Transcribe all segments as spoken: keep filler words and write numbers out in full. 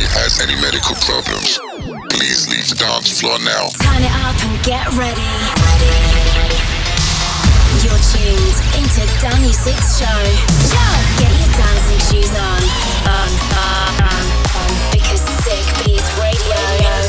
has any medical problems, please leave the dance floor now. Turn it up and get ready. ready. You're tuned into Dan Music's show. Get your dancing shoes on. On, on, on, on. Because Sick Beats Radio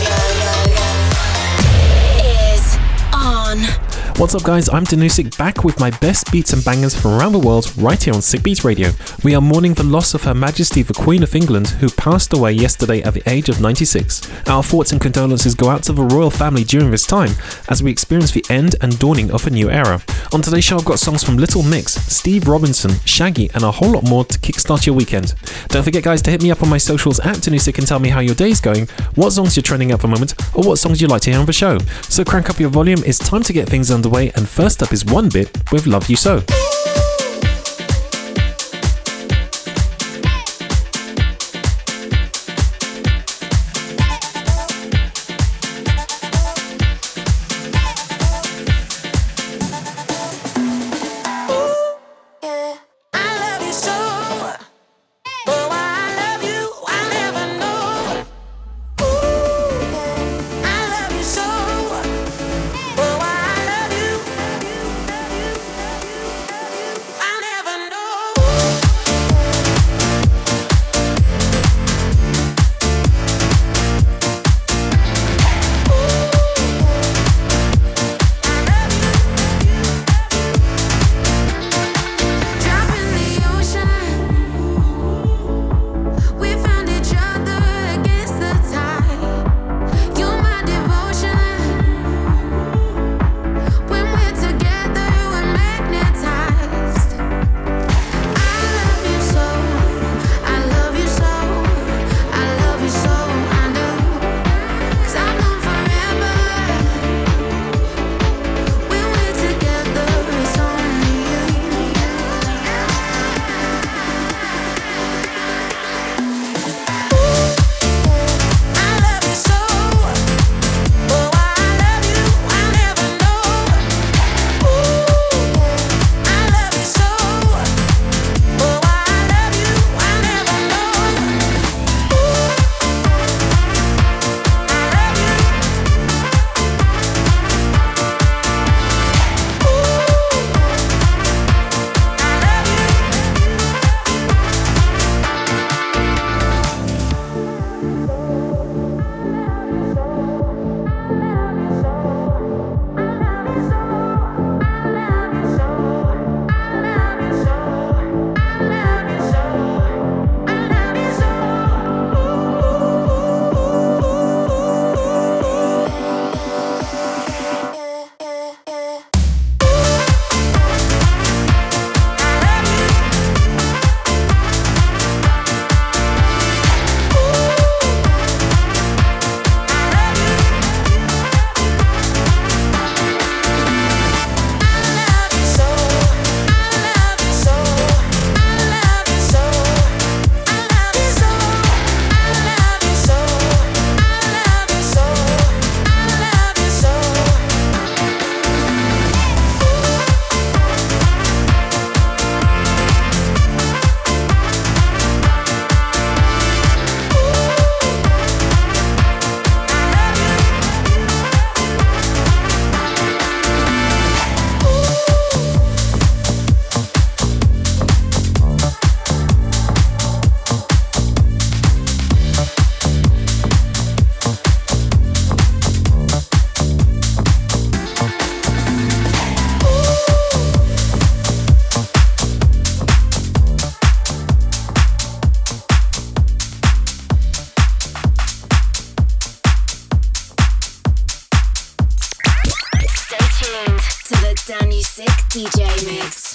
is on. What's up guys, I'm Danusik, back with my best beats and bangers from around the world right here on Sick Beats Radio. We are mourning the loss of Her Majesty the Queen of England, who passed away yesterday at the age of ninety-six. Our thoughts and condolences go out to the royal family during this time as we experience the end and dawning of a new era. On today's show I've got songs from Little Mix, Steve Robinson, Shaggy and a whole lot more to kickstart your weekend. Don't forget guys to hit me up on my socials at Danusik and tell me how your day's going, what songs you're trending at the moment or what songs you'd like to hear on the show. So crank up your volume, it's time to get things underway. And first up is One Bit with Love You So. D J Mix.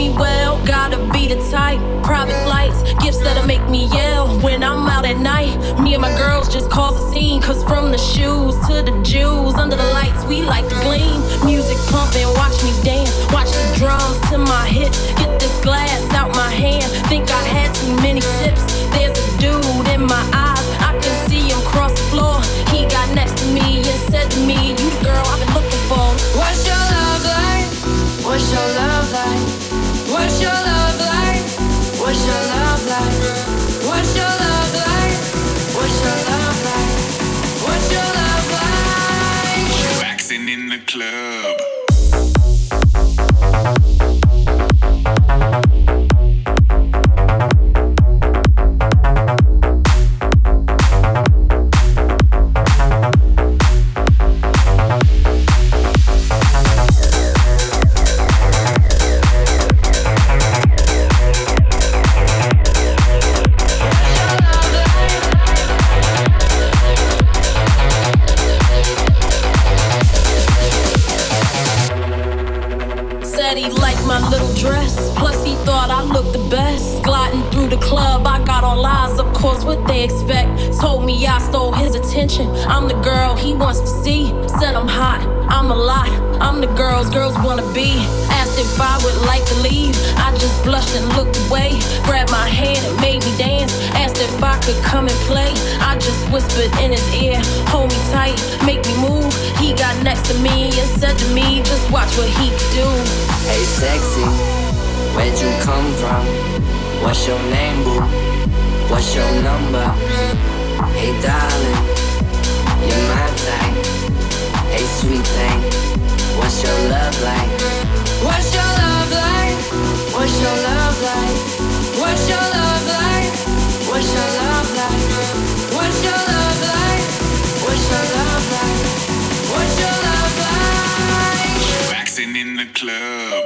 me well, gotta be the type. Private flights, gifts that'll make me yell when I'm out at night. Me and my girls just cause a scene, cause from the shoes to the jewels, under the lights we like to gleam. Music pumping, watch me dance, watch the drums to my hips. Get this glass out my hand, think I had too many sips. There's a dude in my eyes, I can see him cross the floor. He got next to me and said to me, you the girl I've been looking for. What's your love like? What's your love like? What's your love like? What's your love like? What's your love like? What's your love like? What's your love like? Waxing in the club. He liked my little dress, plus he thought I looked the best. Gliding through the club, I got all eyes, of course, what they expect. Told me I stole his attention, I'm the girl he wants to see. Said I'm hot, I'm a lot, I'm the girls girls wanna be. Asked if I would like to leave, I just blushed and looked away. Grabbed my hand and made me dance, asked if I could come and play. I just whispered in his ear, hold me tight, make me move. He got next to me and said to me, just watch what he could do. Hey sexy, where'd you come from? What's your name, boo? What's your number? Hey darling, you're my type. Hey sweet thing, what's your love like? What's your love like? What's your love like? What's your love like? What's your love like? What's your love like? What's your love like? What's your love like? Waxing in the club.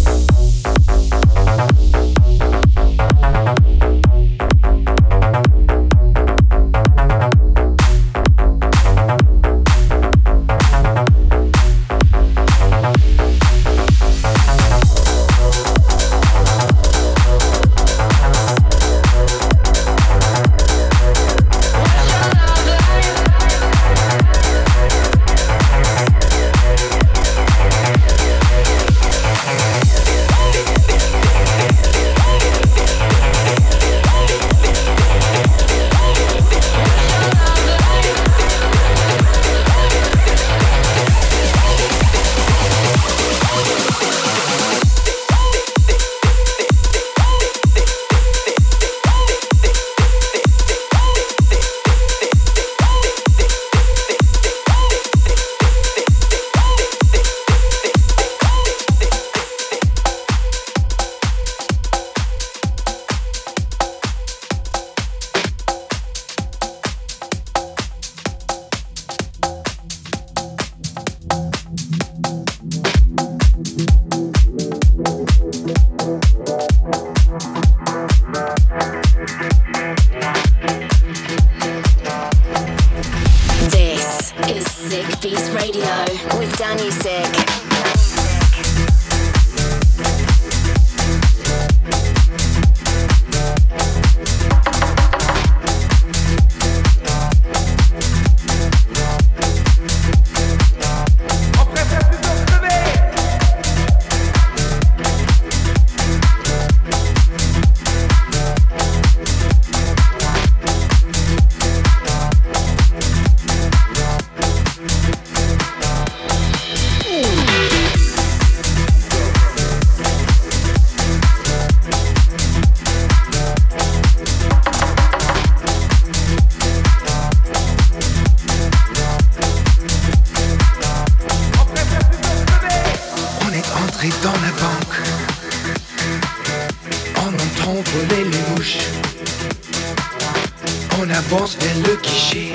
On avance vers le guichet.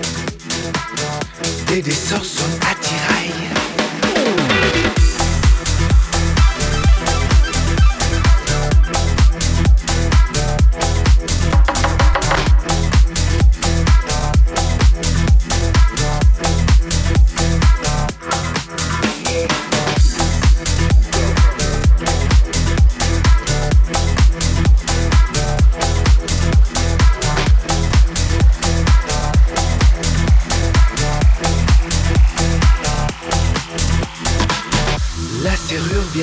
Des des sorts sonnent à tiraille.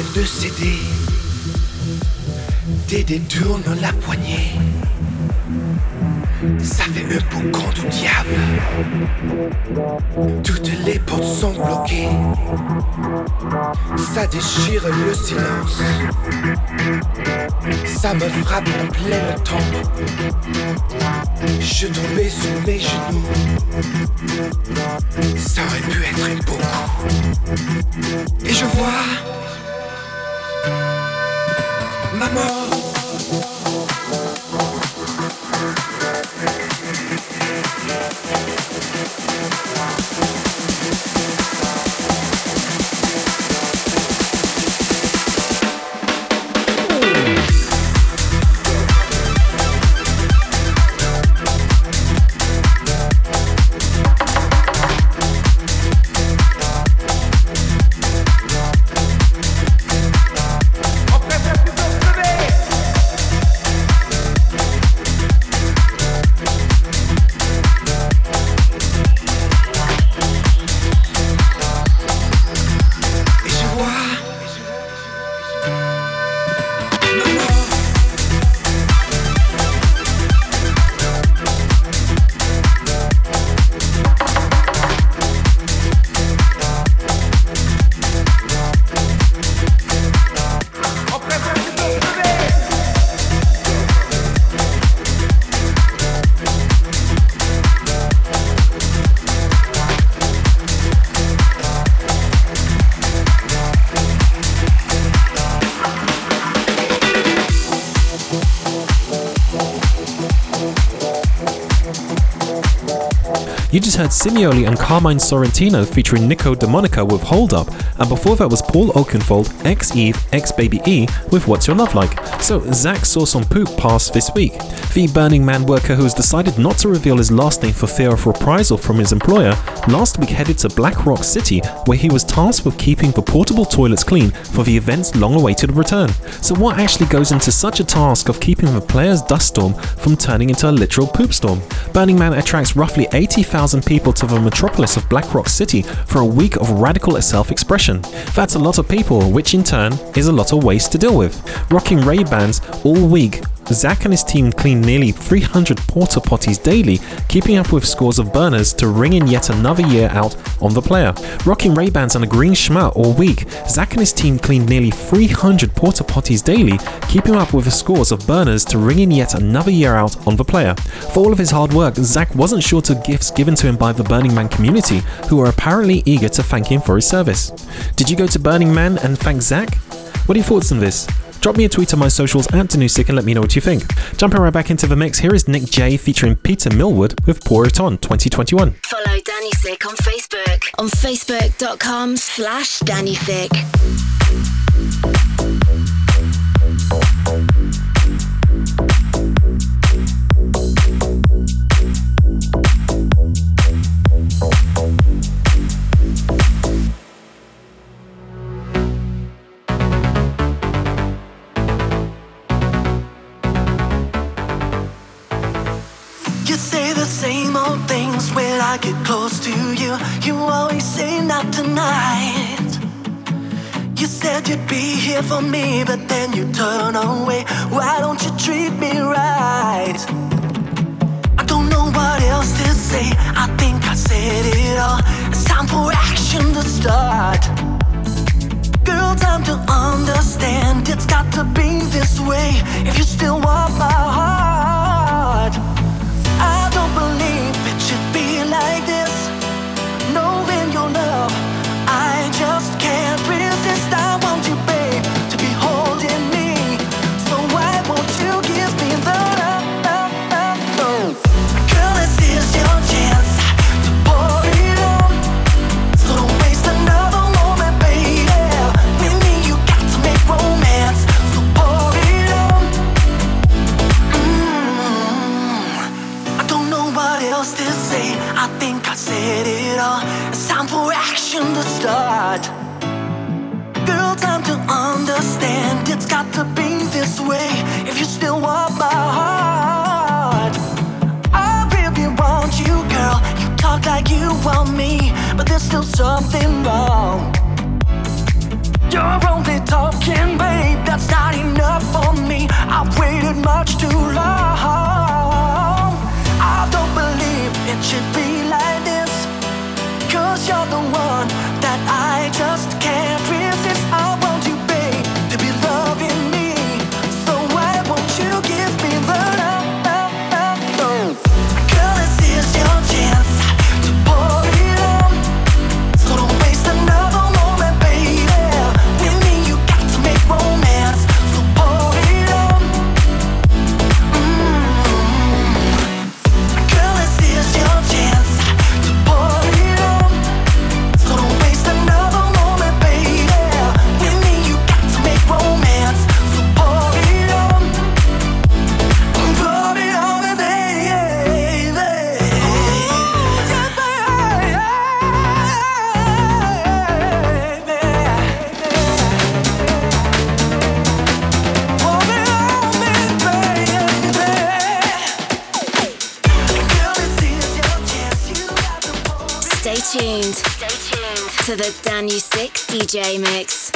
de céder. Tes détournes la poignée. Ça fait un boucan du diable. Toutes les portes sont bloquées. Ça déchire le silence. Ça me frappe en pleine tempe. Je tombais sous mes genoux. Ça aurait pu être beaucoup. Et je vois ma mort. You just heard Simioli and Carmine Sorrentino featuring Nico DeMonica with Hold Up, and before that was Paul Oakenfold, ex-Eve, ex-Baby E with What's Your Love Like. So Zach saw some poop pass this week. The Burning Man worker who has decided not to reveal his last name for fear of reprisal from his employer last week headed to Black Rock City, where he was tasked with keeping the portable toilets clean for the event's long-awaited return. So what actually goes into such a task of keeping the player's dust storm from turning into a literal poop storm? Burning Man attracts roughly eighty thousand people to the metropolis of Black Rock City for a week of radical self-expression. That's a lot of people, which in turn is a lot of waste to deal with. Rocking Ray-Bans all week, Zach and his team clean nearly three hundred porta potties daily, keeping up with scores of burners to ring in yet another year out on the player. Rocking Ray-Bans and a green schmutt all week, Zach and his team cleaned nearly three hundred porta potties daily, keeping up with the scores of burners to ring in yet another year out on the player. For all of his hard work, Zach wasn't short of gifts given to him by the Burning Man community, who are apparently eager to thank him for his service. Did you go to Burning Man and thank Zach? What are your thoughts on this? Drop me a tweet on my socials at Danusik and let me know what you think. Jumping right back into the mix, here is Nick J featuring Peter Millwood with Pour It On twenty twenty-one. Follow Danusik on Facebook on facebook.com slash Danusik. When I get close to you, you always say not tonight. You said you'd be here for me, but then you turn away. Why don't you treat me right? I don't know what else to say. I think I said it all. It's time for action to start. Girl, time to understand. It's got to be this way if you still want my heart. I don't believe it should be like this. Knowing your love, I just can't resist. I want you, babe, to be holding me. So why won't you give me the love? Girl, this is your chance to pour it on. So don't waste another moment, baby. With me, you got to make romance. So pour it on. Mm-hmm. I don't know what else to say. I think I said it all. It's time for action to start. Girl, time to understand. It's got to be this way if you still want my heart. I really want you, girl. You talk like you want me, but there's still something wrong. You're only talking broken, babe, that's not enough for me. I've waited much too long. I don't believe it should be like this, 'cause you're the one that I just can't resist. I want you, babe, to be loving me, so why won't you give me the love? Girl, this is your chance to pour it on, so don't waste another moment, baby. With me you got to make romance, so pour it on. Mm-hmm. Girl, this is your chance to pour it on, so don't waste another moment, baby. With me you got to make romance, so pour it on. Pour it on, baby. Stay tuned. Stay tuned to the Danusik D J mix.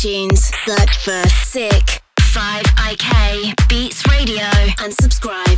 iTunes. Search for Sick five I K Beats Radio and subscribe.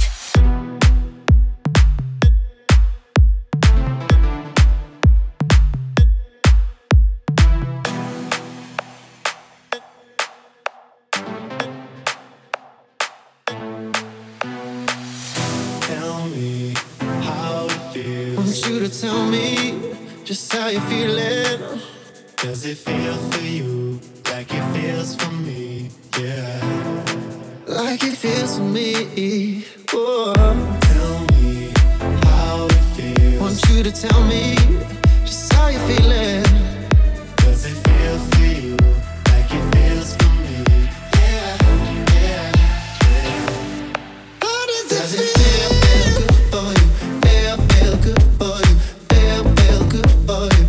You to tell me just how you're feeling. Does it feel for you like it feels for me? Yeah, like it feels for me. Oh, tell me how it feels. Want you to tell me just how you're feeling. Does it feel for you like it feels for me? Yeah, yeah, yeah. How does, does it feel? Feel good for you? Feel, feel good for you? Feel, feel good for you?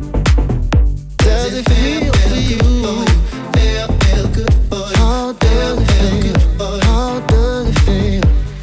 Does it feel for you? Feel, feel good for you? How does it feel? How does it feel?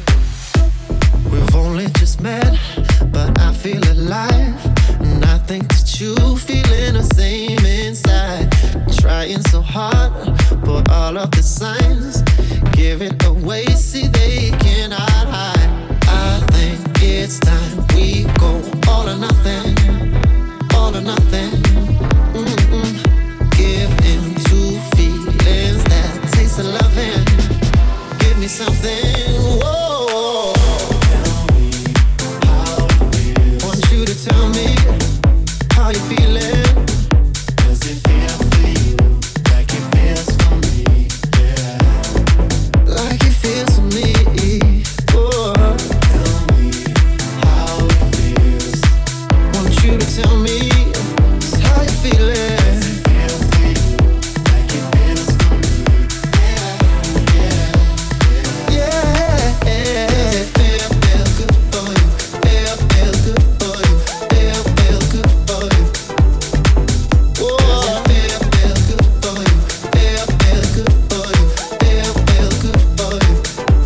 We've only just met, but I feel alive, and I think that you feeling the same inside. Trying so hard, but all of the signs give it away. See, they cannot hide. I think it's time we go all or nothing, all or nothing. Mm-mm. Give in to feelings that taste of loving. Give me something. Whoa. Tell me how it feels. Want you to tell me how you feeling. Does it feel for you like it feels for me? Yeah, like it feels for me. Oh. Tell me how it feels. Want you to tell me how you feeling. Does it feel for you like it feels for me? Yeah, yeah, yeah, yeah. Feel, feel good for you. Feel, feel good for you. Feel, feel good for you. Whoa. Feel, feel good for you. Feel, feel good for you. Feel, feel good for you.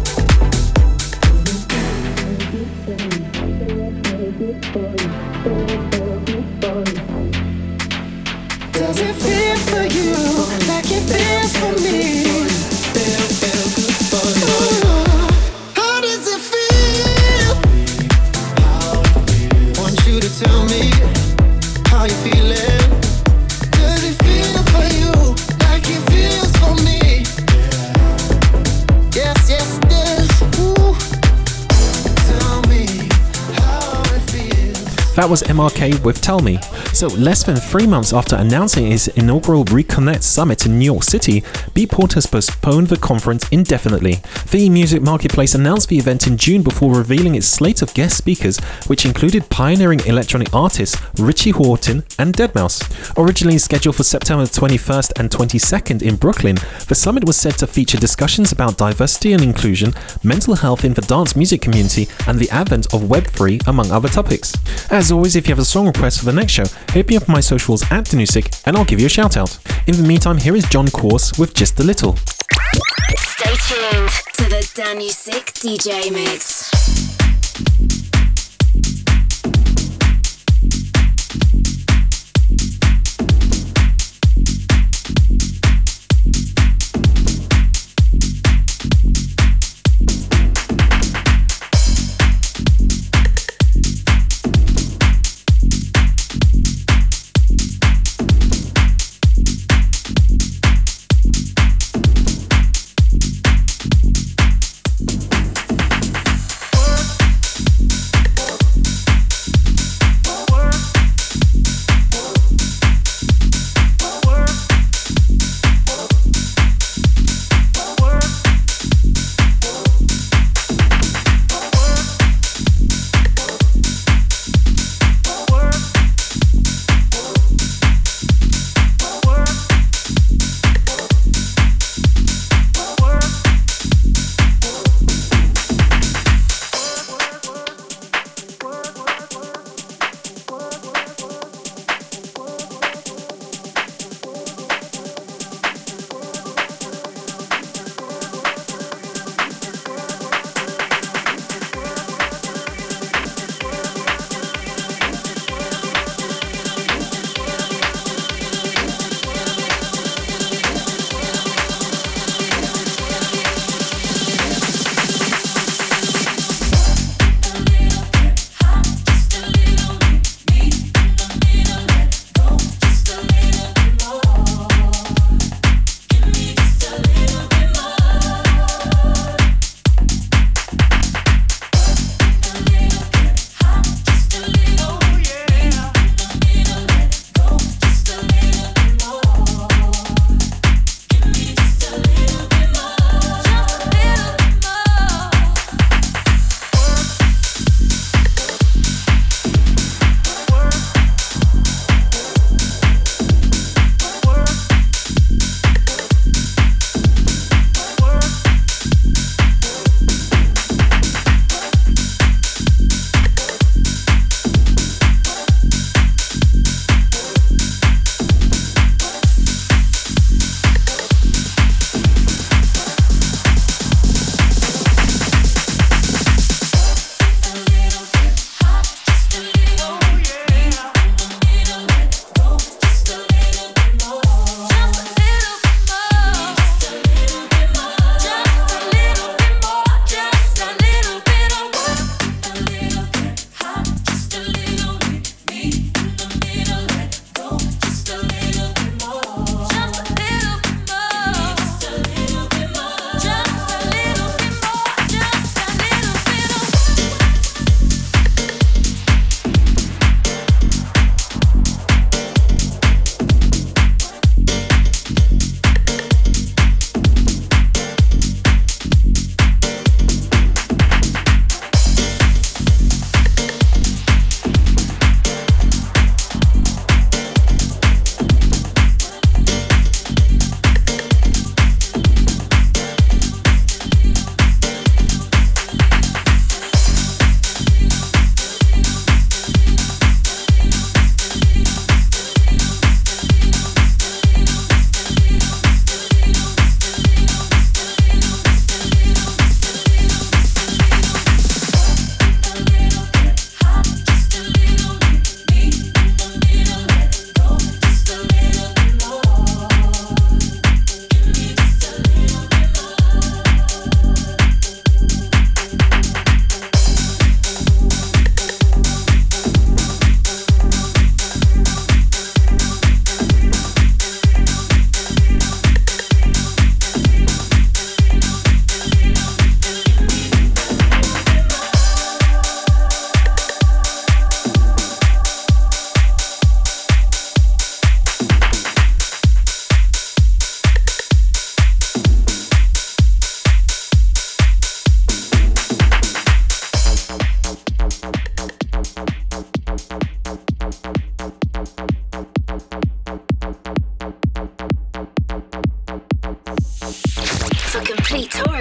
Does it feel for you like it feels for me? Feel, feel good for you. How does it feel? How it feels. Want you to tell me how you feeling. Does it feel for you like it feels for me? Yes, yes, it does. Ooh. Tell me how it feels. That was M R K with Tell Me. So less than three months after announcing his inaugural Reconnect Summit in New York City, Beatport has postponed the conference indefinitely. The Music Marketplace announced the event in June before revealing its slate of guest speakers, which included pioneering electronic artists Richie Hawtin and deadmau five. Originally scheduled for September twenty-first and twenty-second in Brooklyn, the summit was said to feature discussions about diversity and inclusion, mental health in the dance music community, and the advent of Web three, among other topics. As always, if you have a song request for the next show, hit me up on my socials at Danusik and I'll give you a shout out. In the meantime, here is John Course with Just a Little. Stay tuned to the Danusik D J Mix.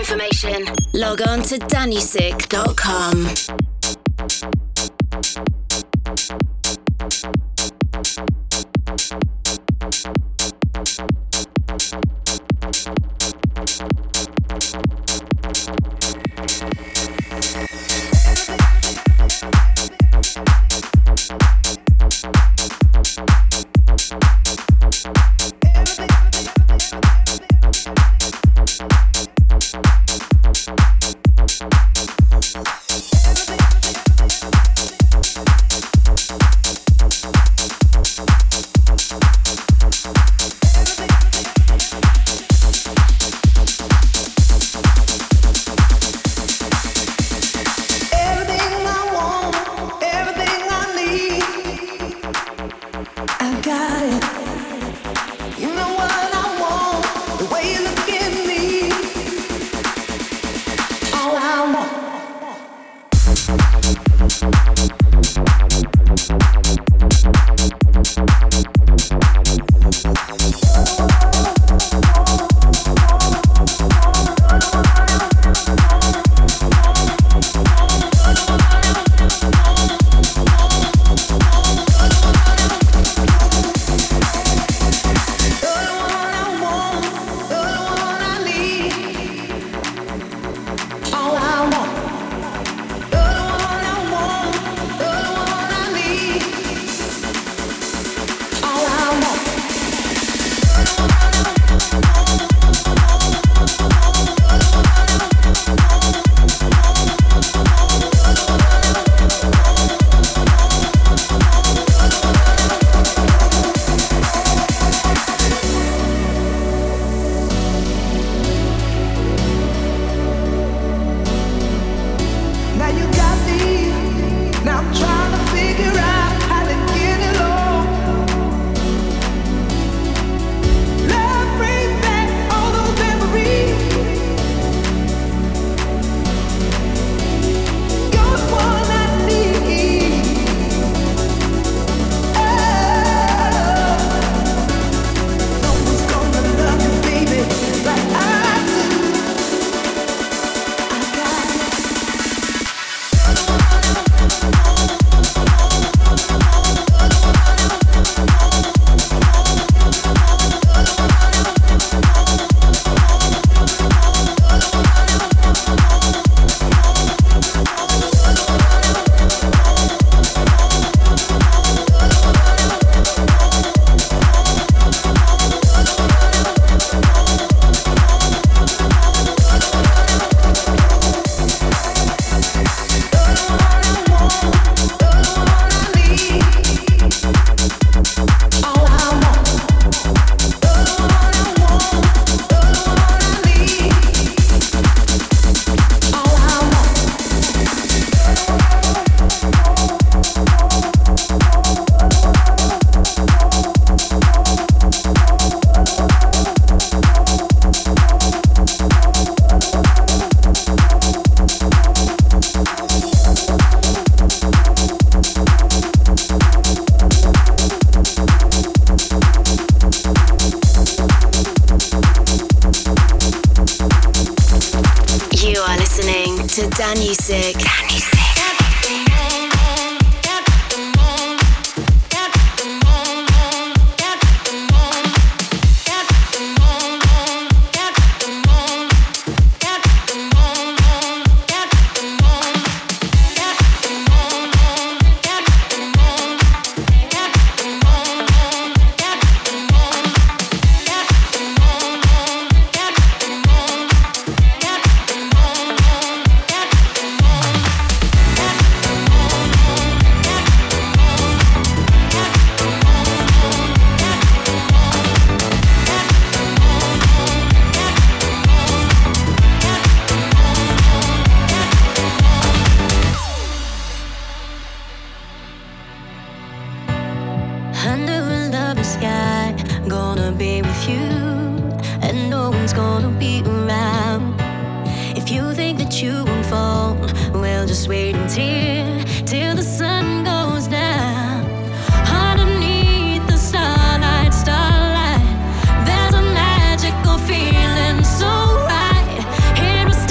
information, log on to dannysick dot com. to Danusik. Danusik. It was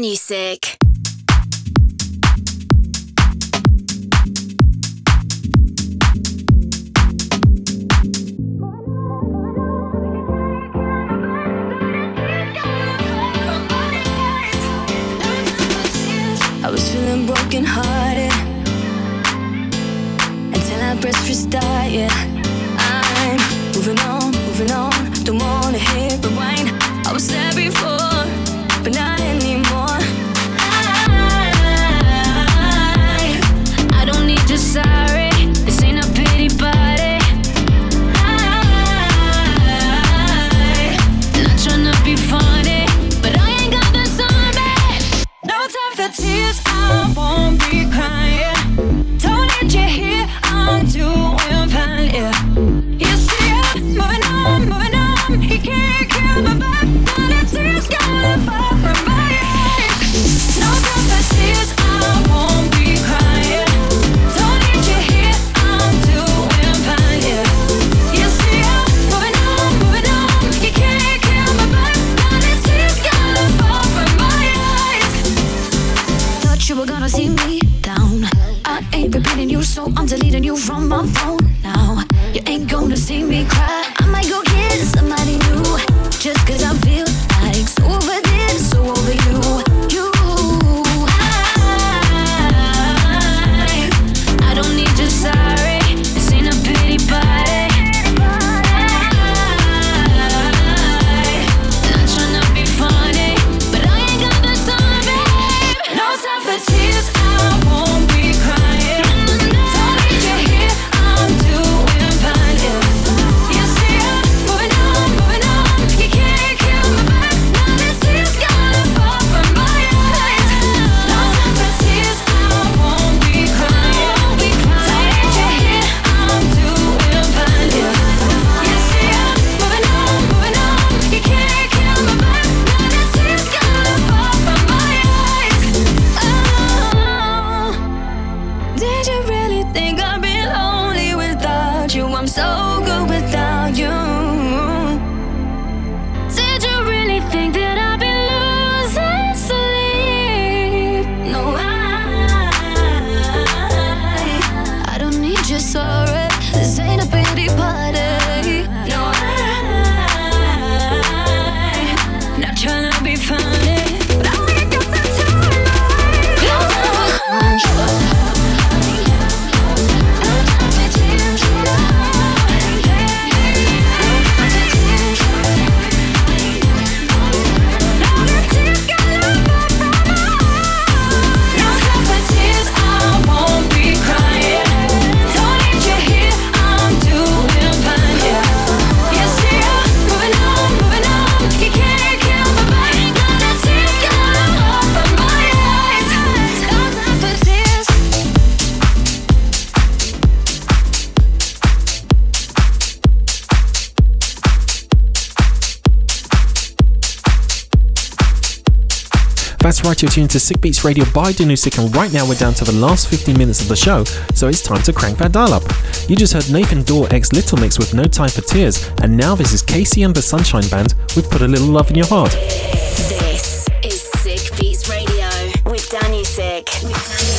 Danusik. I was feeling broken hearted until I pressed restart, yeah. I'm moving on, moving on, don't wanna hit rewind. I was there before, but not anymore. I, I don't need your sorry, this ain't a pity party. I, not tryna be funny, but I ain't got the time, babe. No time for tears, I won't be crying. Don't need you here, I'm doing fine, yeah. You see I'm moving on, moving on. He can't kill my back, but the tears gonna fall from my eyes. No time for tears, I won't be crying. Don't need you here, I'm doing fine, yeah. You see I'm moving on, moving on. He can't kill my back, but the tears gonna fall from my eyes. Thought you were gonna see me down. I ain't repeating you, so I'm deleting you from my phone now. You ain't gonna see me cry. I might go get somebody new, just cause I feel like so over this, so over you. You, I, I don't need your sorry, this ain't a pity party. I, not tryna be funny, but I ain't got the time, babe. No time for tears, I won't be crying. Don't need you here, I'm doing fine, yeah. You see I'm moving on, moving on. You can't kill my back, now the tears gonna fall from my eyes. No time for tears, I won't be crying. Don't need you here, I'm doing fine, yeah. You see I'm moving on, moving on. You can't kill my back, now the tears gonna fall from my eyes. Oh, did you really think I'd be lonely without you? I'm so good without you. Did you really think that I'd be losing sleep? No, I, I don't need your sorry. This ain't a pity party. No, I, not tryna be funny, but I ain't got the time. No time for That's right, you're tuned to Sick Beats Radio by Danusik, and right now we're down to the last fifteen minutes of the show, so it's time to crank that dial up. You just heard Nathan Dawe x Little Mix with No Time for Tears, and now this is Casey and the Sunshine Band with Put a Little Love in Your Heart. This is Sick Beats Radio with Danusik. With Danusik.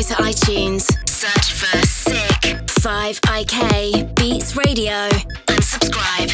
to iTunes, search for Sick five I K Beats Radio and subscribe.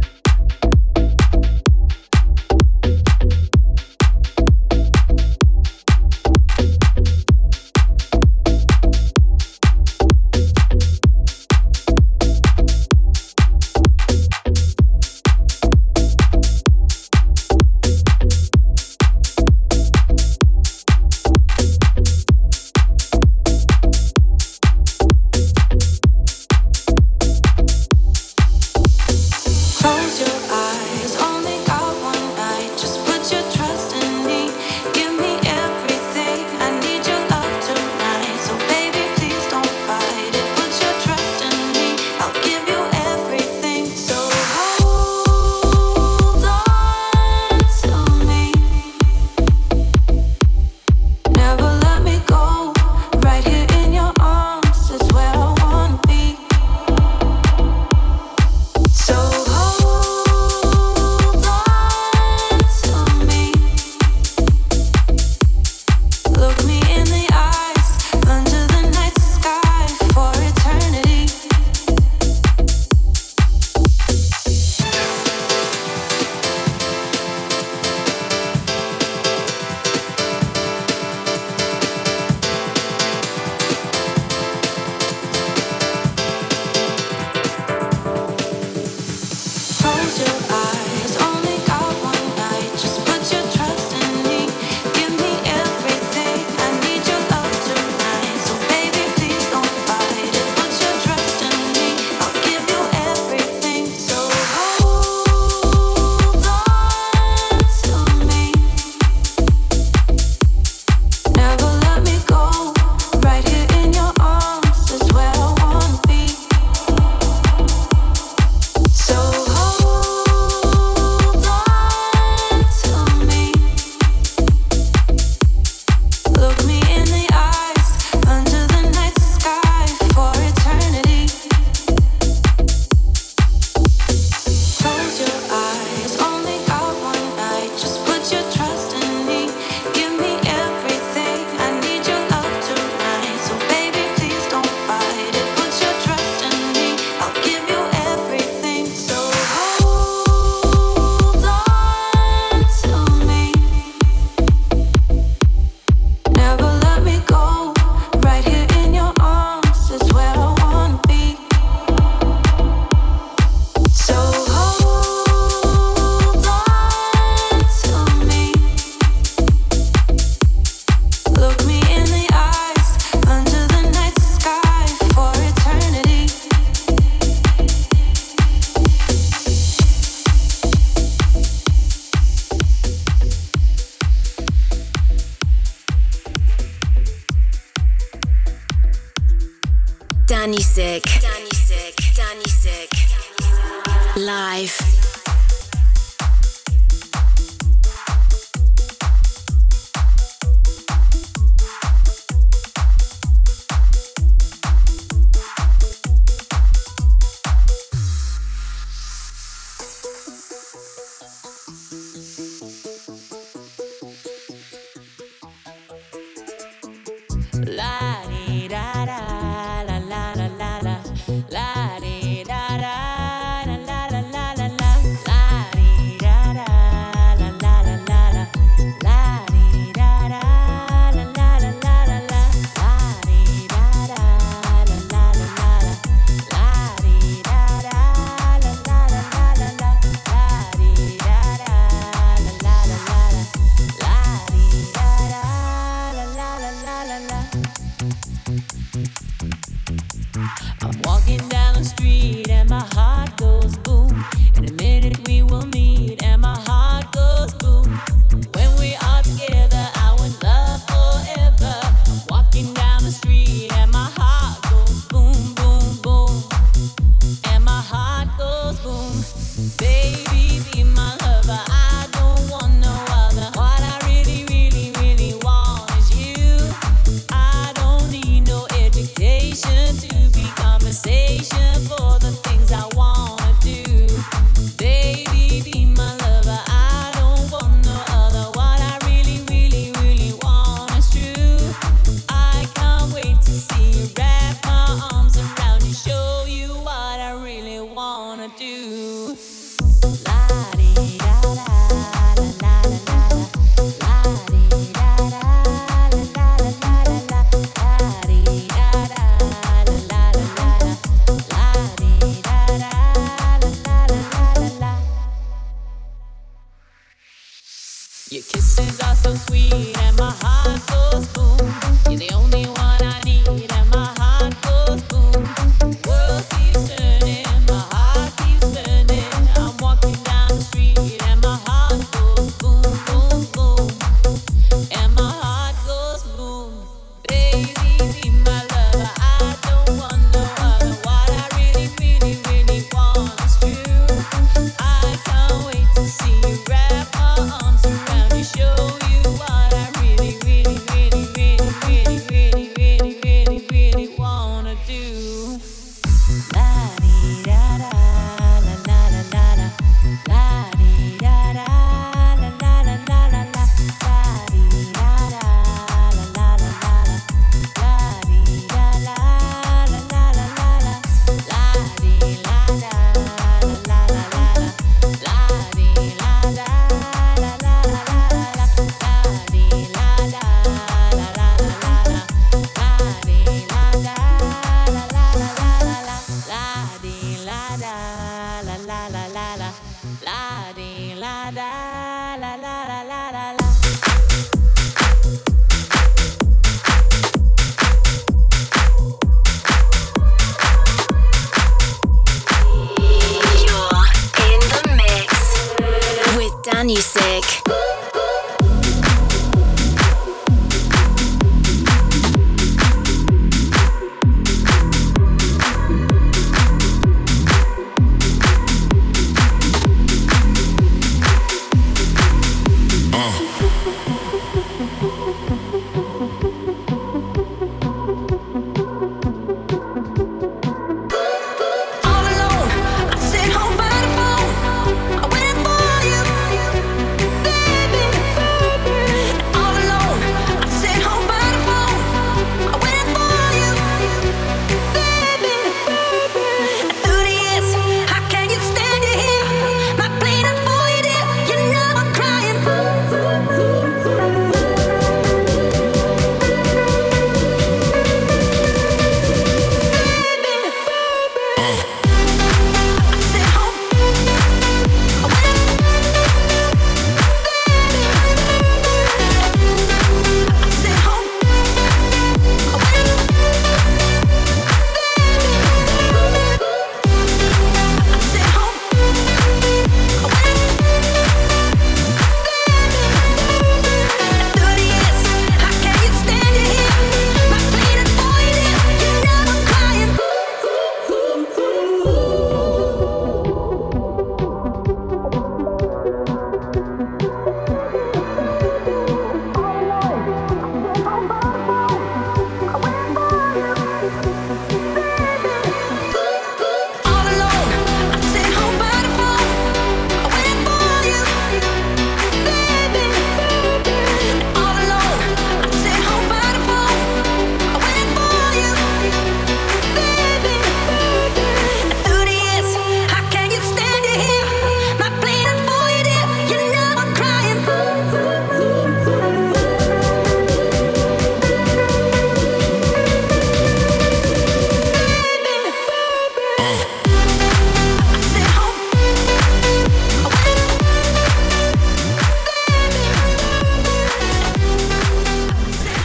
Danny Sick. Danny Sick. Danny Sick. Live.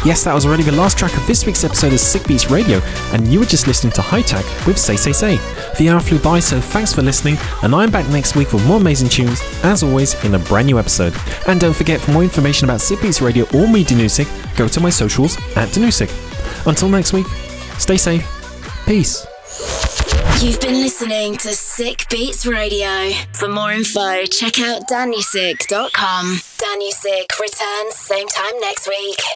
Yes, that was already the last track of this week's episode of Sick Beats Radio, and you were just listening to High Tech with Say Say Say. The hour flew by, so thanks for listening, and I'm back next week with more amazing tunes, as always, in a brand new episode. And don't forget, for more information about Sick Beats Radio or me, Danusik, go to my socials at Danusik. Until next week, stay safe. Peace. You've been listening to Sick Beats Radio. For more info, check out danusik dot com. Danusik returns same time next week.